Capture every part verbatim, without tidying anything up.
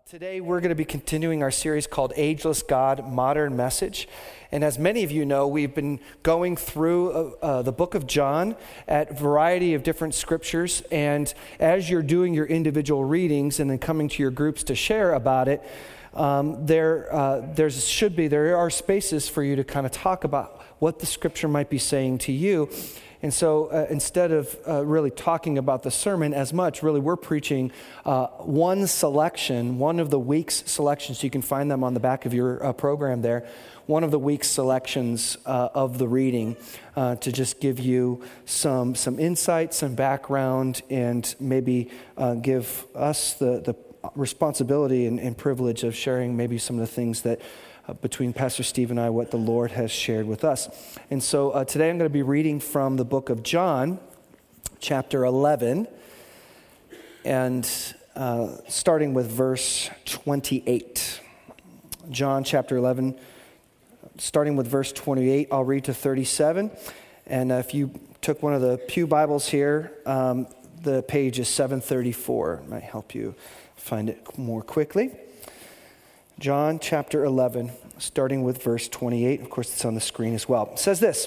Today we're going to be continuing our series called Ageless God, Modern Message. And as many of you know, we've been going through uh, uh, the book of John at a variety of different scriptures. And as you're doing your individual readings and then coming to your groups to share about it, um, there uh, there's should be, there are spaces for you to kind of talk about what the scripture might be saying to you. And so uh, instead of uh, really talking about the sermon as much, really we're preaching uh, one selection, one of the week's selections. You can find them on the back of your uh, program there. One of the week's selections uh, of the reading uh, to just give you some some insight, some background, and maybe uh, give us the, the responsibility and, and privilege of sharing maybe some of the things that Uh, between Pastor Steve and I, what the Lord has shared with us. And so uh, today I'm going to be reading from the book of John, chapter eleven, and uh, starting with verse twenty-eight. John chapter eleven, starting with verse twenty-eight, I'll read to thirty-seven. And uh, if you took one of the pew Bibles here, um, the page is seven thirty-four. It might help you find it more quickly. John chapter eleven, starting with verse twenty-eight. Of course, it's on the screen as well. It says this: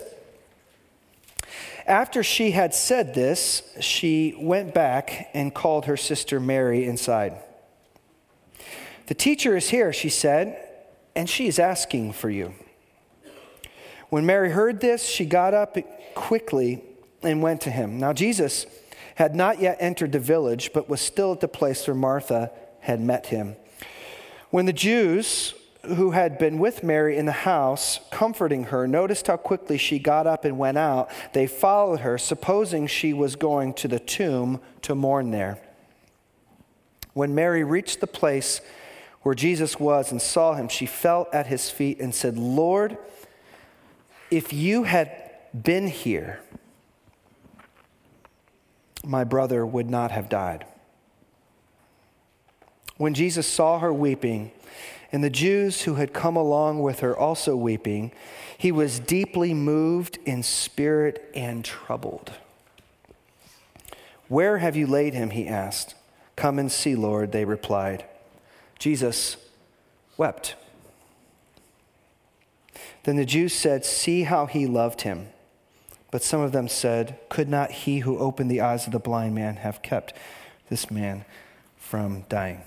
After she had said this, she went back and called her sister Mary inside. "The teacher is here," she said, "and she is asking for you." When Mary heard this, she got up quickly and went to him. Now Jesus had not yet entered the village, but was still at the place where Martha had met him. When the Jews who had been with Mary in the house, comforting her, noticed how quickly she got up and went out, they followed her, supposing she was going to the tomb to mourn there. When Mary reached the place where Jesus was and saw him, she fell at his feet and said, "Lord, if you had been here, my brother would not have died." When Jesus saw her weeping, and the Jews who had come along with her also weeping, he was deeply moved in spirit and troubled. "Where have you laid him?" he asked. "Come and see, Lord," they replied. Jesus wept. Then the Jews said, "See how he loved him." But some of them said, "Could not he who opened the eyes of the blind man have kept this man from dying?"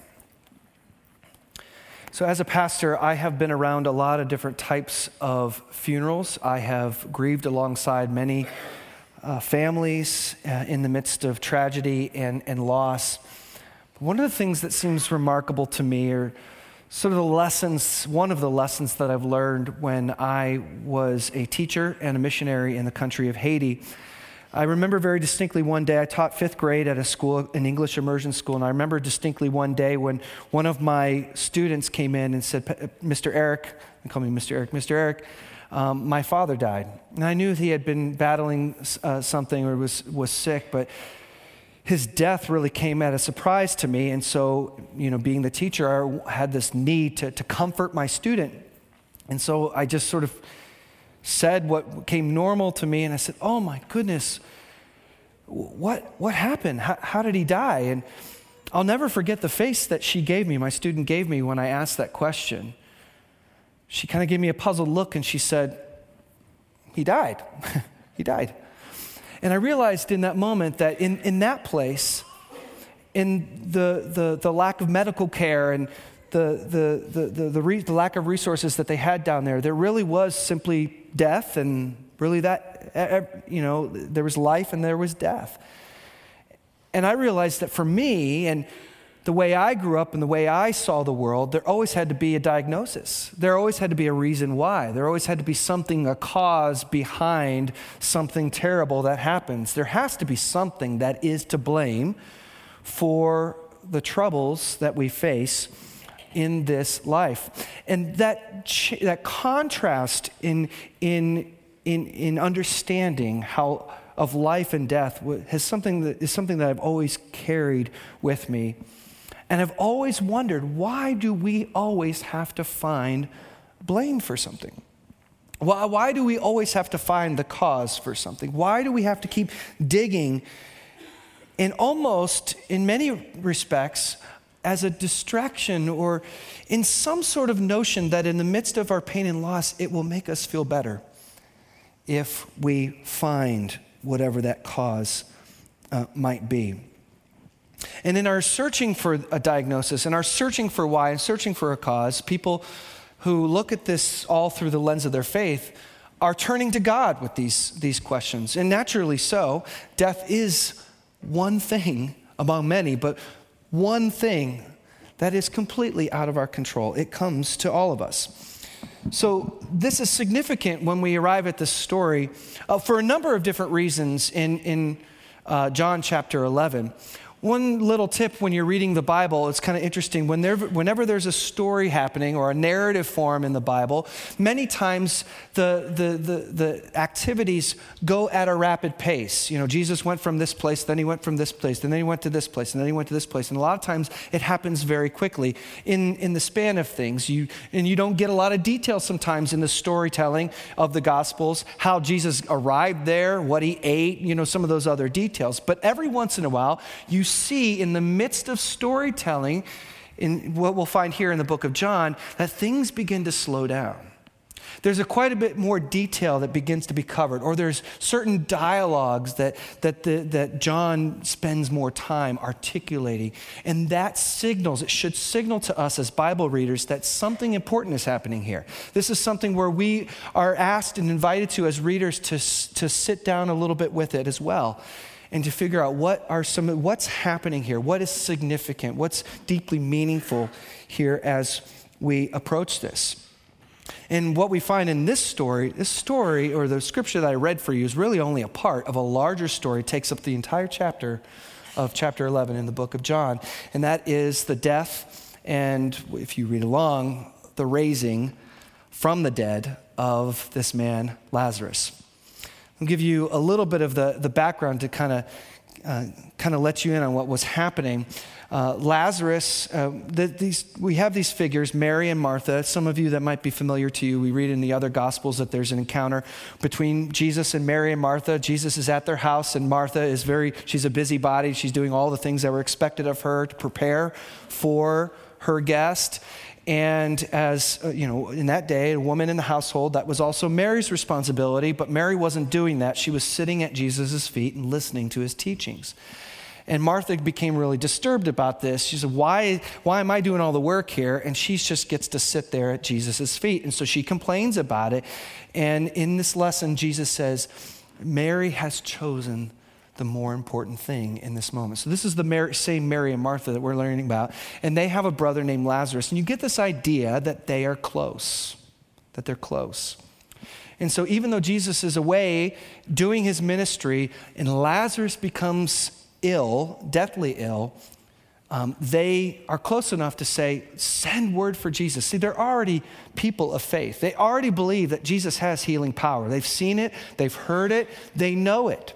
So as a pastor, I have been around a lot of different types of funerals. I have grieved alongside many uh, families uh, in the midst of tragedy and, and loss. One of the things that seems remarkable to me are sort of the lessons, one of the lessons that I've learned when I was a teacher and a missionary in the country of Haiti. I remember very distinctly one day, I taught fifth grade at a school, an English immersion school, and I remember distinctly one day when one of my students came in and said, "Mister Eric," they call me Mister Eric, "Mister Eric, um, my father died." And I knew he had been battling uh, something or was, was sick, but his death really came at a surprise to me. And so, you know, being the teacher, I had this need to, to comfort my student. And so I just sort of said what came normal to me, and I said, "Oh my goodness, what what happened? How, how did he die?" And I'll never forget the face that she gave me, my student gave me when I asked that question. She kind of gave me a puzzled look, and she said, "He died. He died." And I realized in that moment that in, in that place, in the, the the lack of medical care and the the the the, the, re, the lack of resources that they had down there, there really was simply death, and really that, you know, there was life and there was death. And I realized that for me, and the way I grew up and the way I saw the world, there always had to be a diagnosis. There always had to be a reason why. There always had to be something, a cause behind something terrible that happens. There has to be something that is to blame for the troubles that we face in this life. And that ch- that contrast in in in in understanding how of life and death has something that is something that I've always carried with me. And I've always wondered, why do we always have to find blame for something? Why, why do we always have to find the cause for something? Why do we have to keep digging? And almost, in many respects, as a distraction or in some sort of notion that in the midst of our pain and loss, it will make us feel better if we find whatever that cause uh, might be. And in our searching for a diagnosis, and our searching for why, and searching for a cause, people who look at this all through the lens of their faith are turning to God with these, these questions. And naturally so, death is one thing among many, but one thing that is completely out of our control. It comes to all of us. So this is significant when we arrive at this story uh, for a number of different reasons in, in uh, John chapter eleven. One little tip when you're reading the Bible, it's kind of interesting. When there, whenever there's a story happening or a narrative form in the Bible, many times the, the, the, the activities go at a rapid pace. You know, Jesus went from this place, then he went from this place, and then he went to this place, and then he went to this place. And a lot of times it happens very quickly in, in the span of things. You, and you don't get a lot of detail sometimes in the storytelling of the Gospels, how Jesus arrived there, what he ate, you know, some of those other details. But every once in a while, you see in the midst of storytelling, in what we'll find here in the book of John, that things begin to slow down. There's a quite a bit more detail that begins to be covered, or there's certain dialogues that, that, the, that John spends more time articulating. And that signals, it should signal to us as Bible readers that something important is happening here. This is something where we are asked and invited to as readers to, to sit down a little bit with it as well, and to figure out what are some, what's happening here, what is significant, what's deeply meaningful here as we approach this. And what we find in this story, this story, or the scripture that I read for you, is really only a part of a larger story. It takes up the entire chapter of chapter eleven in the book of John. And that is the death and, if you read along, the raising from the dead of this man, Lazarus. I'll give you a little bit of the, the background to kind of uh, kind of let you in on what was happening. Uh, Lazarus, uh, the, these, we have these figures, Mary and Martha. Some of you that might be familiar to you, we read in the other Gospels that there's an encounter between Jesus and Mary and Martha. Jesus is at their house, and Martha is very, she's a busybody. She's doing all the things that were expected of her to prepare for her guest. And as, uh, you know, in that day, a woman in the household, that was also Mary's responsibility, but Mary wasn't doing that. She was sitting at Jesus' feet and listening to his teachings. And Martha became really disturbed about this. She said, why, why am I doing all the work here? And she just gets to sit there at Jesus' feet. And so she complains about it. And in this lesson, Jesus says, Mary has chosen the more important thing in this moment. So this is the Mary, same Mary and Martha that we're learning about. And they have a brother named Lazarus. And you get this idea that they are close, that they're close. And so even though Jesus is away doing his ministry and Lazarus becomes ill, deathly ill, um, they are close enough to say, send word for Jesus. See, they're already people of faith. They already believe that Jesus has healing power. They've seen it, they've heard it, they know it.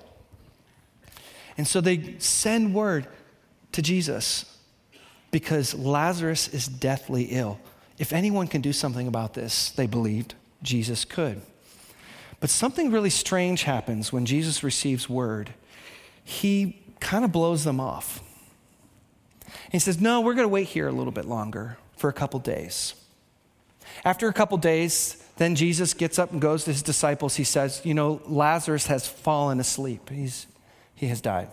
And so they send word to Jesus because Lazarus is deathly ill. If anyone can do something about this, they believed Jesus could. But something really strange happens when Jesus receives word. He kind of blows them off. He says, no, we're going to wait here a little bit longer for a couple days. After a couple days, then Jesus gets up and goes to his disciples. He says, you know, Lazarus has fallen asleep. He's He has died.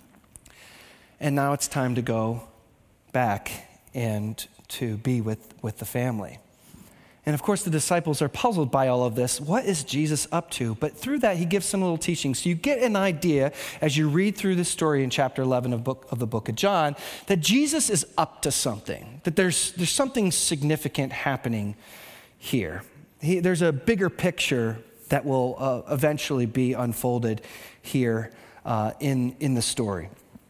And now it's time to go back and to be with, with the family. And of course, the disciples are puzzled by all of this. What is Jesus up to? But through that, he gives some little teachings. So you get an idea as you read through the story in chapter eleven of, book, of the book of John that Jesus is up to something, that there's, there's something significant happening here. He, there's a bigger picture that will uh, eventually be unfolded here uh, in, in the story.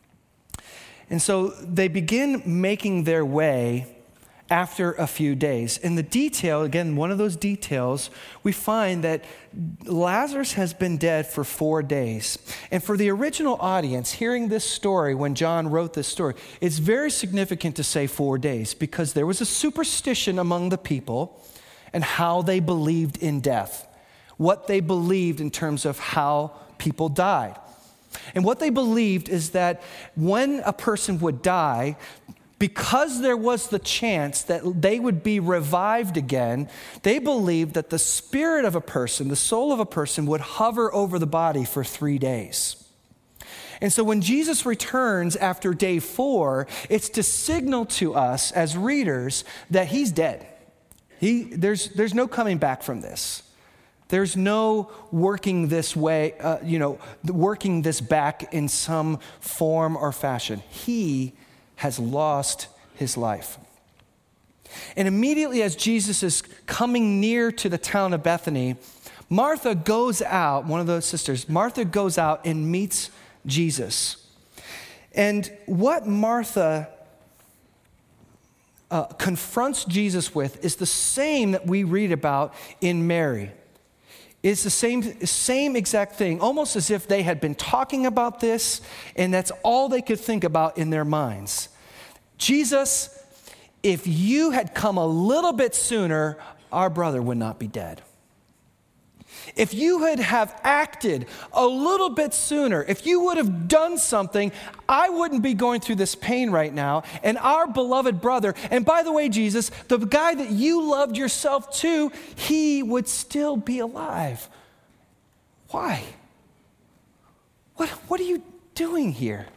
And so they begin making their way after a few days. In the detail, again, one of those details, we find that Lazarus has been dead for four days. And for the original audience, hearing this story when John wrote this story, it's very significant to say four days because there was a superstition among the people and how they believed in death, what they believed in terms of how people died. And what they believed is that when a person would die, because there was the chance that they would be revived again, they believed that the spirit of a person, the soul of a person, would hover over the body for three days. And so when Jesus returns after day four, it's to signal to us as readers that he's dead. He, there's, there's no coming back from this. There's no working this way, uh, you know, working this back in some form or fashion. He has lost his life. And immediately as Jesus is coming near to the town of Bethany, Martha goes out, one of those sisters, Martha goes out and meets Jesus. And what Martha uh, confronts Jesus with is the same that we read about in Mary. It's the same, same exact thing, almost as if they had been talking about this, and that's all they could think about in their minds. Jesus, if you had come a little bit sooner, our brother would not be dead. If you had have acted a little bit sooner, if you would have done something, I wouldn't be going through this pain right now. And our beloved brother, and by the way, Jesus, the guy that you loved yourself too, he would still be alive. Why? What, what are you doing here?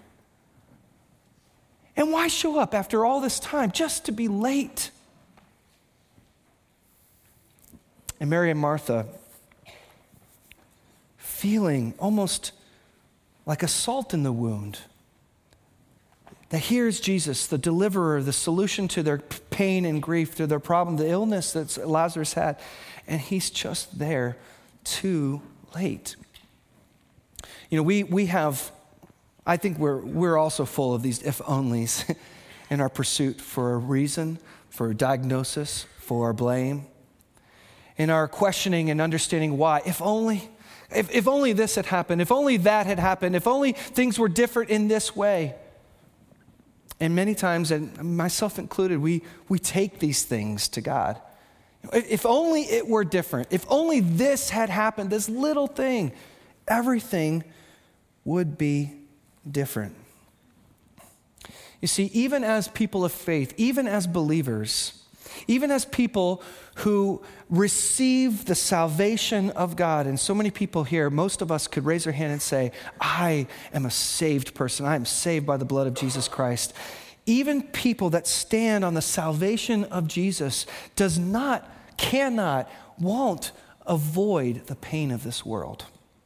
And why show up after all this time just to be late? And Mary and Martha, feeling almost like a salt in the wound, that here's Jesus, the deliverer, the solution to their pain and grief, to their problem, the illness that Lazarus had, and he's just there too late. You know, we we have, I think we're we're also full of these if-onlys in our pursuit for a reason, for a diagnosis, for blame, in our questioning and understanding why. If only. If, if only this had happened, if only that had happened, if only things were different in this way. And many times, and myself included, we, we take these things to God. If only it were different, if only this had happened, this little thing, everything would be different. You see, even as people of faith, even as believers, even as people who receive the salvation of God, and so many people here, most of us could raise our hand and say, I am a saved person. I am saved by the blood of Jesus Christ. Even people that stand on the salvation of Jesus does not, cannot, won't avoid the pain of this world.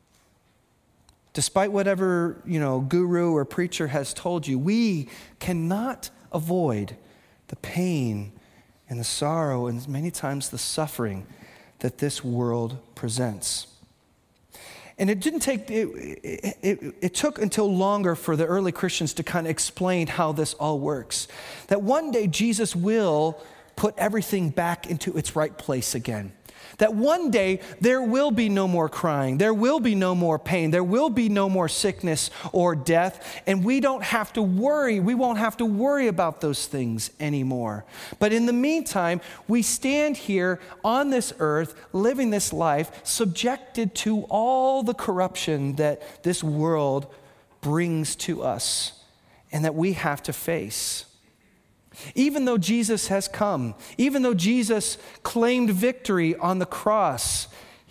Despite whatever, you know, guru or preacher has told you, we cannot avoid the pain and the sorrow and many times the suffering that this world presents. And it didn't take, it, it, it, it took until longer for the early Christians to kind of explain how this all works. That one day Jesus will put everything back into its right place again. That one day there will be no more crying, there will be no more pain, there will be no more sickness or death, and we don't have to worry, we won't have to worry about those things anymore. But in the meantime, we stand here on this earth, living this life, subjected to all the corruption that this world brings to us and that we have to face. Even though Jesus has come, even though Jesus claimed victory on the cross,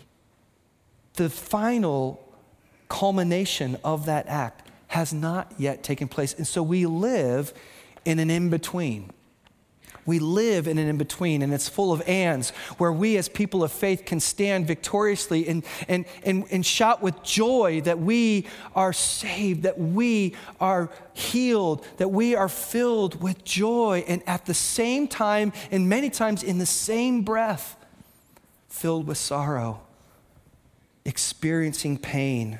the final culmination of that act has not yet taken place. And so we live in an in-between. We live in an in-between, and it's full of ands, where we as people of faith can stand victoriously and, and, and, and shout with joy that we are saved, that we are healed, that we are filled with joy, and at the same time, and many times in the same breath, filled with sorrow, experiencing pain,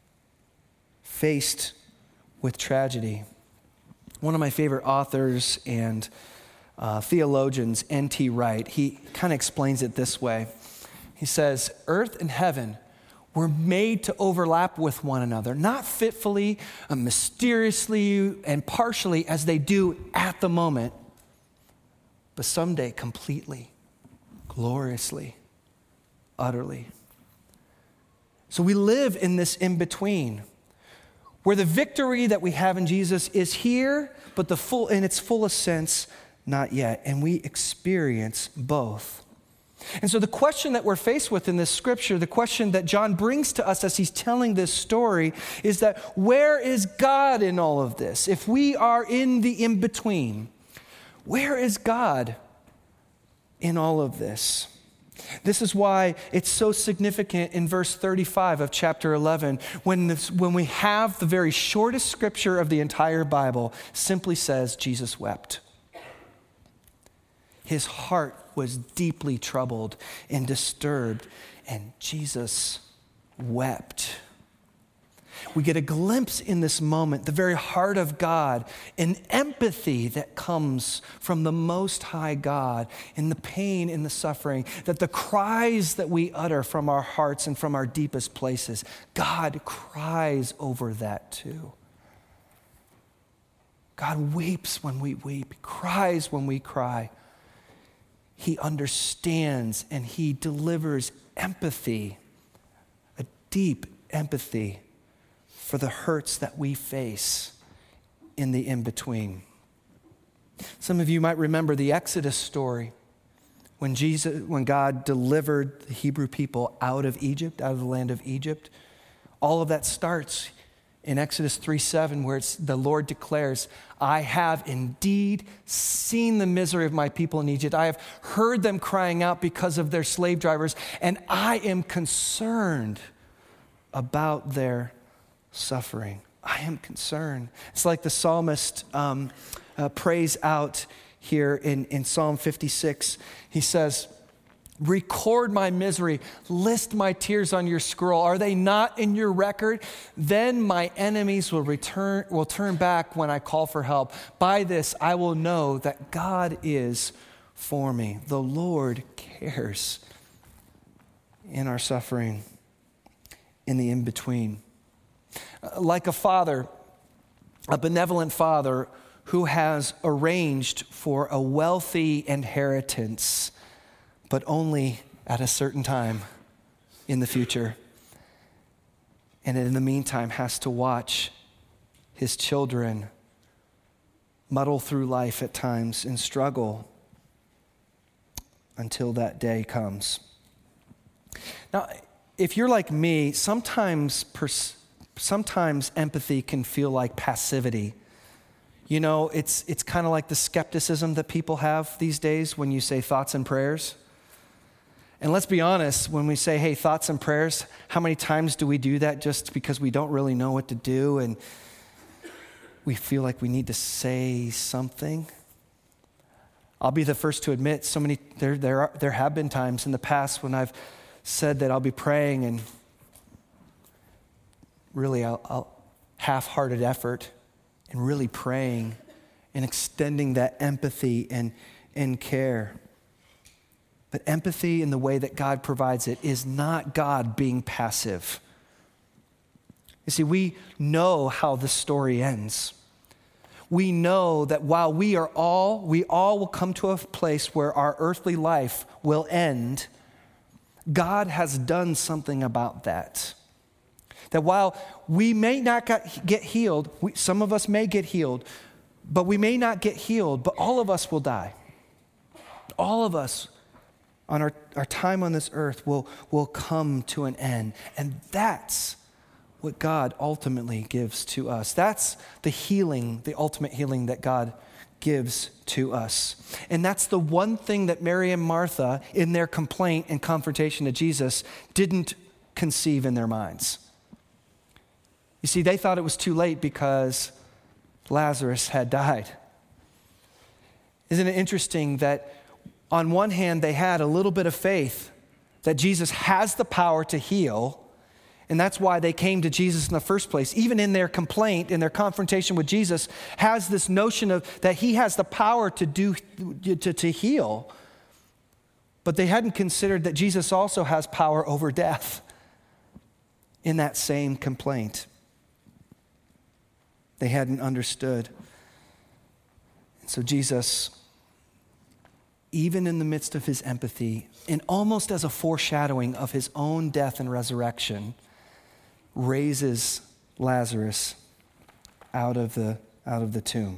faced with tragedy. One of my favorite authors and Uh, theologians, N T Wright, he kind of explains it this way. He says, earth and heaven were made to overlap with one another, not fitfully, uh, mysteriously, and partially as they do at the moment, but someday completely, gloriously, utterly. So we live in this in-between where the victory that we have in Jesus is here, but the full, in its fullest sense, not yet. And we experience both. And so the question that we're faced with in this scripture, the question that John brings to us as he's telling this story, is that where is God in all of this? If we are in the in-between, where is God in all of this? This is why it's so significant in verse thirty-five of chapter eleven, when, this, when we have the very shortest scripture of the entire Bible, simply says Jesus wept. His heart was deeply troubled and disturbed, and Jesus wept. We get a glimpse in this moment, the very heart of God, an empathy that comes from the Most High God in the pain and the suffering, that the cries that we utter from our hearts and from our deepest places, God cries over that too. God weeps when we weep, cries when we cry. He understands and he delivers empathy, a deep empathy for the hurts that we face in the in-between. Some of you might remember the Exodus story when Jesus, when God delivered the Hebrew people out of Egypt, out of the land of Egypt. All of that starts in Exodus three seven, where it's, the Lord declares, I have indeed seen the misery of my people in Egypt. I have heard them crying out because of their slave drivers, and I am concerned about their suffering. I am concerned. It's like the psalmist um, uh, prays out here in, in Psalm fifty-six. He says, record my misery, list my tears on your scroll. Are they not in your record? Then my enemies will return, will turn back when I call for help. By this I will know that God is for me. The Lord cares in our suffering, in the in-between. Like a father, a benevolent father who has arranged for a wealthy inheritance, but only at a certain time in the future. And in the meantime has to watch his children muddle through life at times and struggle until that day comes. Now, if you're like me, sometimes pers- sometimes empathy can feel like passivity. You know, it's it's kind of like the skepticism that people have these days when you say thoughts and prayers. And let's be honest, when we say, hey, thoughts and prayers, how many times do we do that just because we don't really know what to do and we feel like we need to say something? I'll be the first to admit, so many there there are, there have been times in the past when I've said that I'll be praying and really I'll, I'll half-hearted effort and really praying and extending that empathy and, and care. But empathy in the way that God provides it is not God being passive. You see, we know how the story ends. We know that while we are all, we all will come to a place where our earthly life will end, God has done something about that. That while we may not get healed, we, some of us may get healed, but we may not get healed, but all of us will die. All of us on our, our time on this earth will, will come to an end. And that's what God ultimately gives to us. That's the healing, the ultimate healing that God gives to us. And that's the one thing that Mary and Martha, in their complaint and confrontation to Jesus, didn't conceive in their minds. You see, they thought it was too late because Lazarus had died. Isn't it interesting that on one hand, they had a little bit of faith that Jesus has the power to heal, and that's why they came to Jesus in the first place. Even in their complaint, in their confrontation with Jesus, has this notion of that he has the power to do to, to heal. But they hadn't considered that Jesus also has power over death in that same complaint. They hadn't understood. And so Jesus, even in the midst of his empathy, and almost as a foreshadowing of his own death and resurrection, raises Lazarus out of the out of the tomb.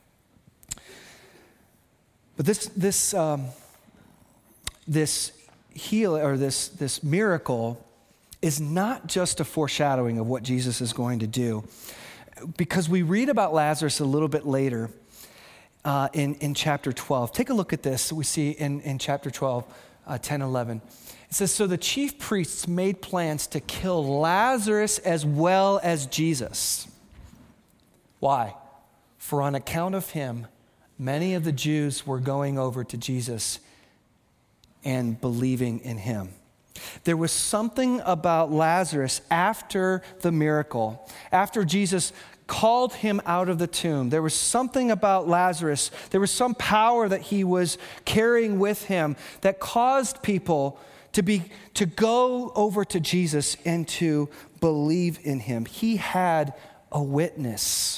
But this this um, this heal or this this miracle is not just a foreshadowing of what Jesus is going to do, because we read about Lazarus a little bit later uh, in in chapter twelve. Take a look at this. We see in in chapter twelve, uh, ten, eleven. It says, so the chief priests made plans to kill Lazarus as well as Jesus. Why? For on account of him, many of the Jews were going over to Jesus and believing in him. There was something about Lazarus after the miracle, after Jesus called him out of the tomb. There was something about Lazarus. There was some power that he was carrying with him that caused people to be to go over to Jesus and to believe in him. He had a witness.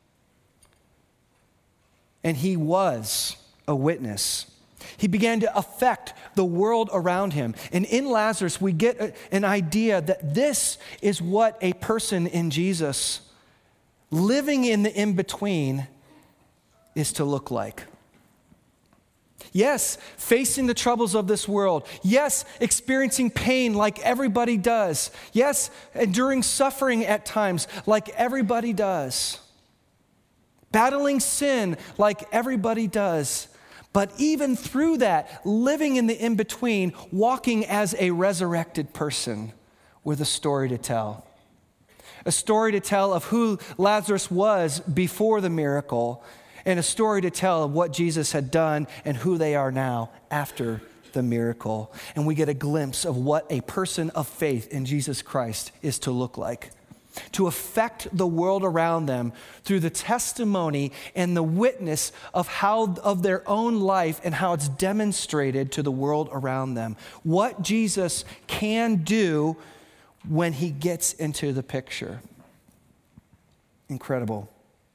And he was a witness. He began to affect the world around him. And in Lazarus, we get a, an idea that this is what a person in Jesus, living in the in-between, is to look like. Yes, facing the troubles of this world. Yes, experiencing pain like everybody does. Yes, enduring suffering at times like everybody does. Battling sin like everybody does. But even through that, living in the in-between, walking as a resurrected person with a story to tell. A story to tell of who Lazarus was before the miracle, and a story to tell of what Jesus had done and who they are now after the miracle. And we get a glimpse of what a person of faith in Jesus Christ is to look like. To affect the world around them through the testimony and the witness of how of their own life and how it's demonstrated to the world around them. What Jesus can do when he gets into the picture. Incredible.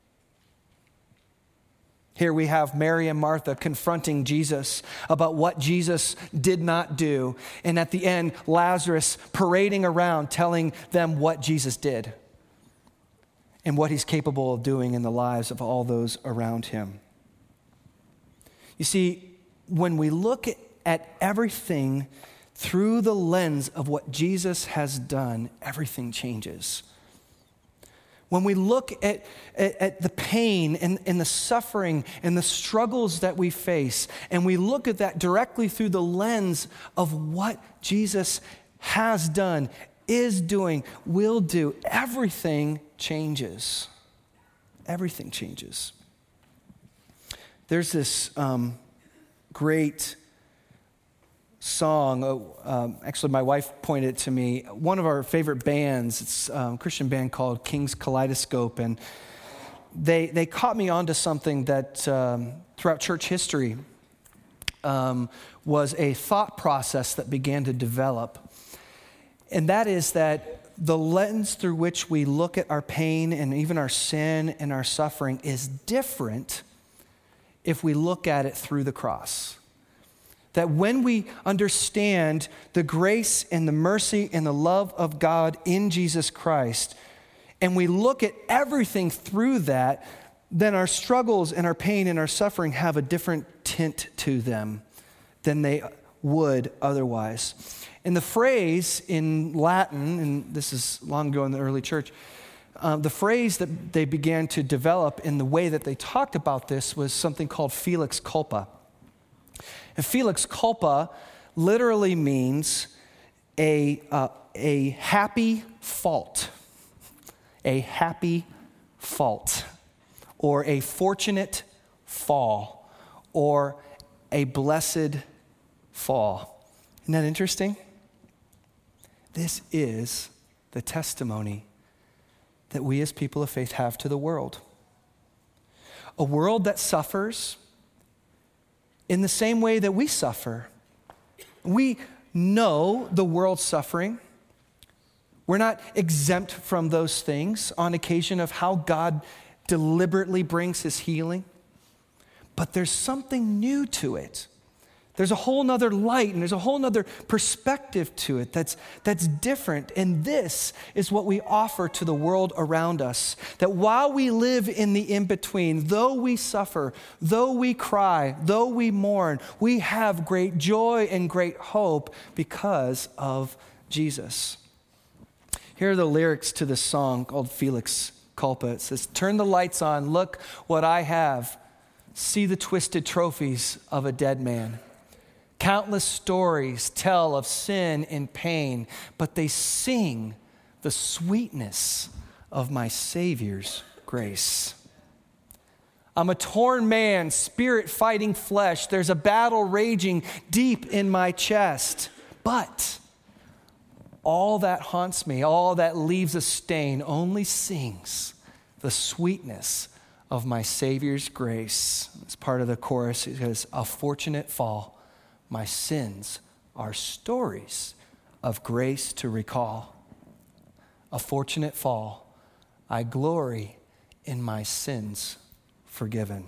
Here we have Mary and Martha confronting Jesus about what Jesus did not do. And at the end, Lazarus parading around telling them what Jesus did and what he's capable of doing in the lives of all those around him. You see, when we look at everything through the lens of what Jesus has done, everything changes. When we look at, at, at the pain and, and the suffering and the struggles that we face, and we look at that directly through the lens of what Jesus has done, is doing, will do, everything changes. Everything changes. There's this um, great song. Uh, um, actually, my wife pointed it to me. One of our favorite bands, it's um, a Christian band called King's Kaleidoscope, and they they caught me onto something that um, throughout church history um, was a thought process that began to develop, and that is that the lens through which we look at our pain and even our sin and our suffering is different if we look at it through the cross. That when we understand the grace and the mercy and the love of God in Jesus Christ, and we look at everything through that, then our struggles and our pain and our suffering have a different tint to them than they would otherwise. And the phrase in Latin, and this is long ago in the early church, um, the phrase that they began to develop in the way that they talked about this was something called felix culpa. And felix culpa literally means a, uh, a happy fault, a happy fault, or a fortunate fall, or a blessed fall. Isn't that interesting? This is the testimony that we as people of faith have to the world. A world that suffers in the same way that we suffer. We know the world's suffering. We're not exempt from those things on occasion of how God deliberately brings his healing. But there's something new to it There's a whole nother light and there's a whole nother perspective to it that's, that's different. And this is what we offer to the world around us. That while we live in the in-between, though we suffer, though we cry, though we mourn, we have great joy and great hope because of Jesus. Here are the lyrics to this song called Felix Culpa. It says, turn the lights on, look what I have. See the twisted trophies of a dead man. Countless stories tell of sin and pain, but they sing the sweetness of my Savior's grace. I'm a torn man, spirit fighting flesh. There's a battle raging deep in my chest. But all that haunts me, all that leaves a stain, only sings the sweetness of my Savior's grace. It's part of the chorus. It says, a fortunate fall. My sins are stories of grace to recall. A fortunate fall. I glory in my sins forgiven.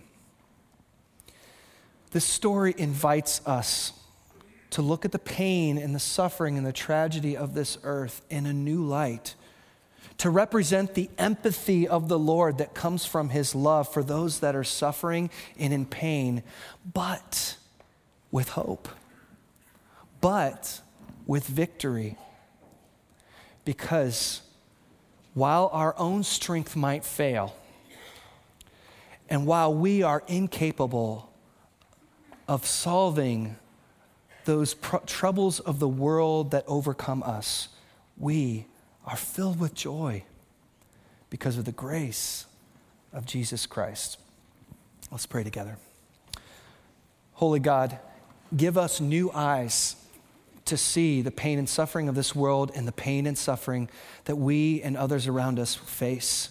This story invites us to look at the pain and the suffering and the tragedy of this earth in a new light, to represent the empathy of the Lord that comes from his love for those that are suffering and in pain, but with hope, but with victory. Because while our own strength might fail, and while we are incapable of solving those pr- troubles of the world that overcome us, we are filled with joy because of the grace of Jesus Christ. Let's pray together. Holy God, give us new eyes to see the pain and suffering of this world and the pain and suffering that we and others around us face.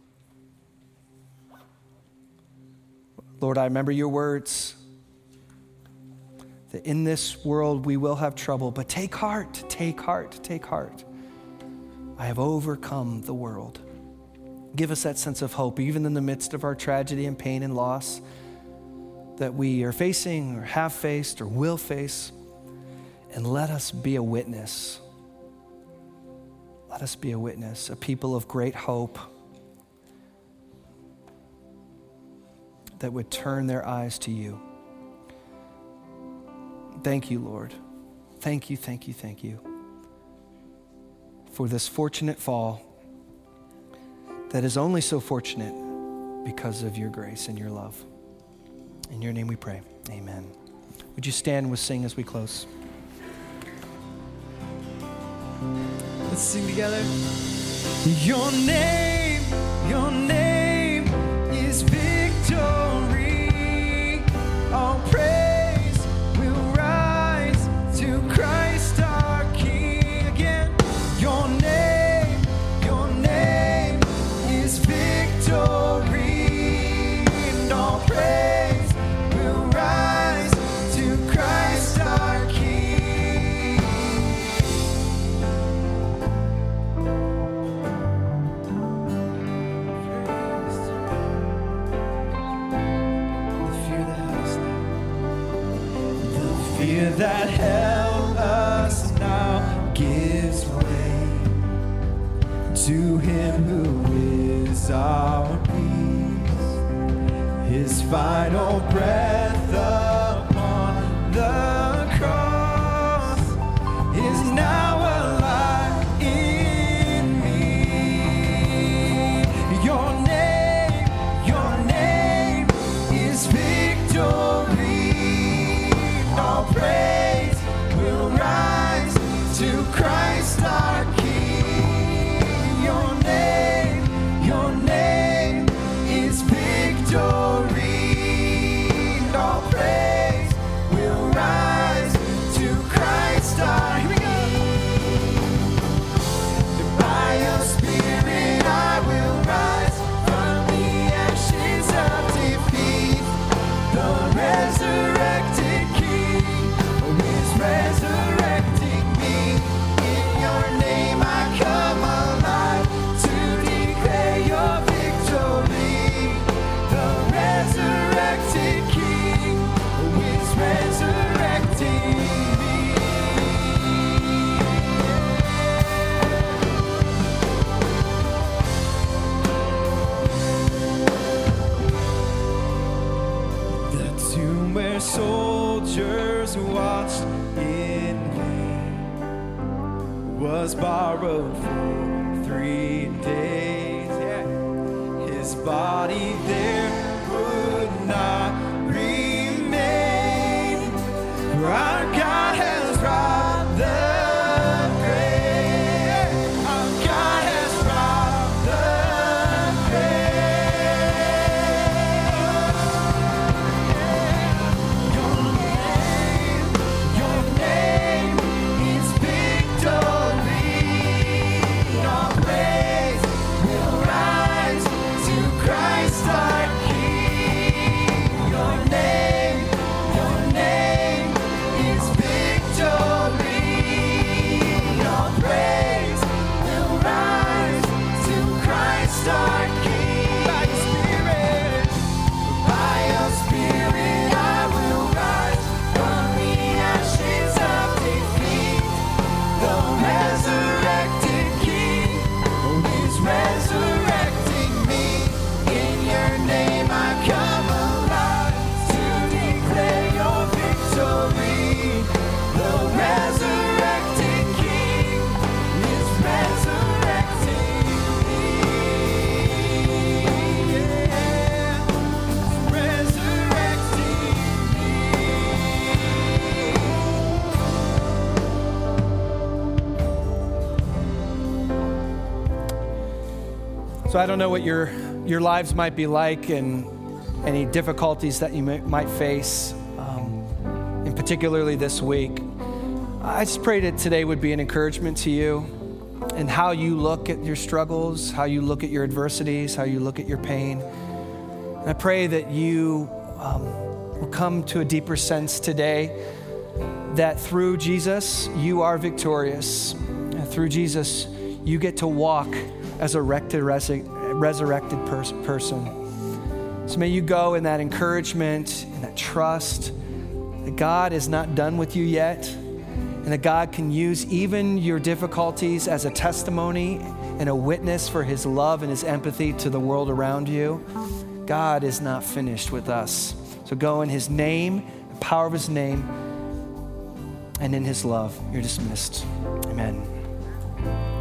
Lord, I remember your words that in this world we will have trouble, but take heart, take heart, take heart. I have overcome the world. Give us that sense of hope, even in the midst of our tragedy and pain and loss that we are facing or have faced or will face. And let us be a witness. Let us be a witness, a people of great hope that would turn their eyes to you. Thank you, Lord. Thank you, thank you, thank you for this fortunate fall that is only so fortunate because of your grace and your love. In your name we pray, amen. Would you stand and we'll sing as we close? Let's sing together. Your name, your name is victory. All praise will rise to Christ our King again. Your name, your name is victory. And all praise will rise to Christ our King. Fear that held us now gives way to him who is our peace. His final breath upon the cross is now alive in me. Your name, your name is victory. All praise will rise to Christ our King. Your name, your name is victory. And all praise hours watched in vain, was borrowed for three days. Yeah. His body there would not remain, for our God has robbed the grave. Our God has robbed the grave. Your name, your name is victory. Your praise will rise to Christ our King. Your name, your name is victory. Your praise will rise to Christ our King. By your Spirit, by your Spirit, I will rise from the ashes of defeat. The resurrected King is resurrecting me. In your name I come alive to declare your victory. The resurrected King is resurrecting me. Yeah, resurrecting me. So I don't know what your your lives might be like and any difficulties that you may, might face, um, and particularly this week. I just pray that today would be an encouragement to you and how you look at your struggles, how you look at your adversities, how you look at your pain. And I pray that you um, will come to a deeper sense today that through Jesus, you are victorious. And through Jesus, you get to walk as a resurrected, resurrected pers- person. So may you go in that encouragement and that trust that God is not done with you yet, and that God can use even your difficulties as a testimony and a witness for his love and his empathy to the world around you. God is not finished with us. So go in his name, the power of his name, and in his love. You're dismissed. Amen.